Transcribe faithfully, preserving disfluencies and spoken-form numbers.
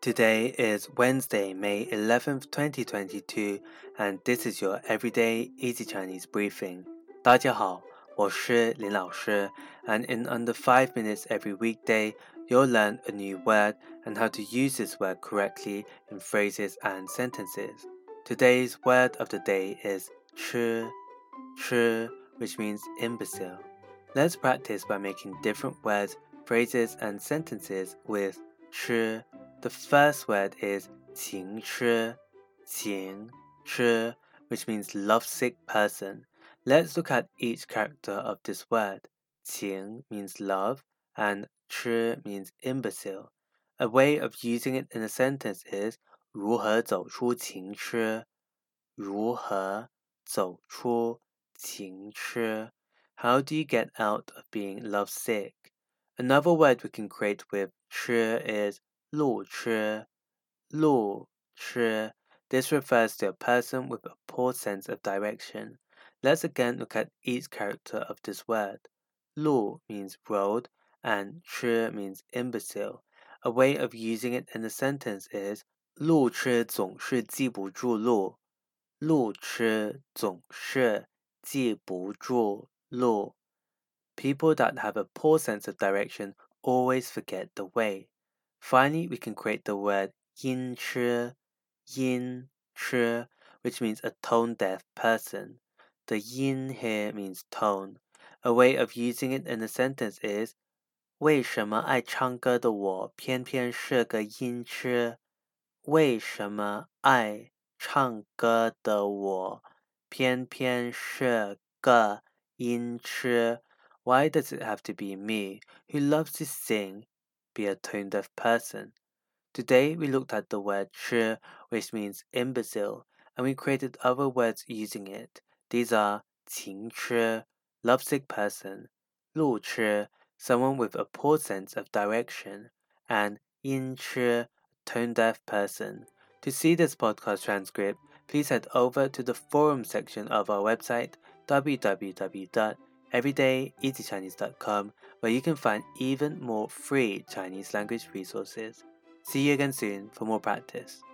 Today is Wednesday, May eleventh, twenty twenty-two, and this is your Everyday Easy Chinese Briefing. 大家好，我是林老师, and in under five minutes every weekday, you'll learn a new word and how to use this word correctly in phrases and sentences. Today's word of the day is 吃, 吃, which means imbecile. Let's practice by making different words, phrases, and sentences with 吃. The first word is 情痴, 情痴, which means lovesick person. Let's look at each character of this word. 情 means love and 痴 means imbecile. A way of using it in a sentence is 如何走出情痴，如何走出情痴。How do you get out of being lovesick? Another word we can create with 痴 is 路痴，路痴. This refers to a person with a poor sense of direction. Let's again look at each character of this word. 路 means road and 痴 means imbecile. A way of using it in a sentence is 路痴总是记不住路，路痴总是记不住路。People that have a poor sense of direction always forget the way. Finally, we can create the word 音痴, 音痴, which means a tone-deaf person. The 音 here means tone. A way of using it in a sentence is 为什么爱唱歌的我偏偏是个音痴？为什么爱唱歌的我偏偏是个音痴？ Why does it have to be me, who loves to sing, be a tone-deaf person? Today we looked at the word 痴, which means imbecile, and we created other words using it. These are 情痴, lovesick person, 路痴, someone with a poor sense of direction, and 音痴, tone-deaf person. To see this podcast transcript, please head over to the forum section of our website, w w w dot everyday easy chinese dot com, where you can find even more free Chinese language resources. See you again soon for more practice.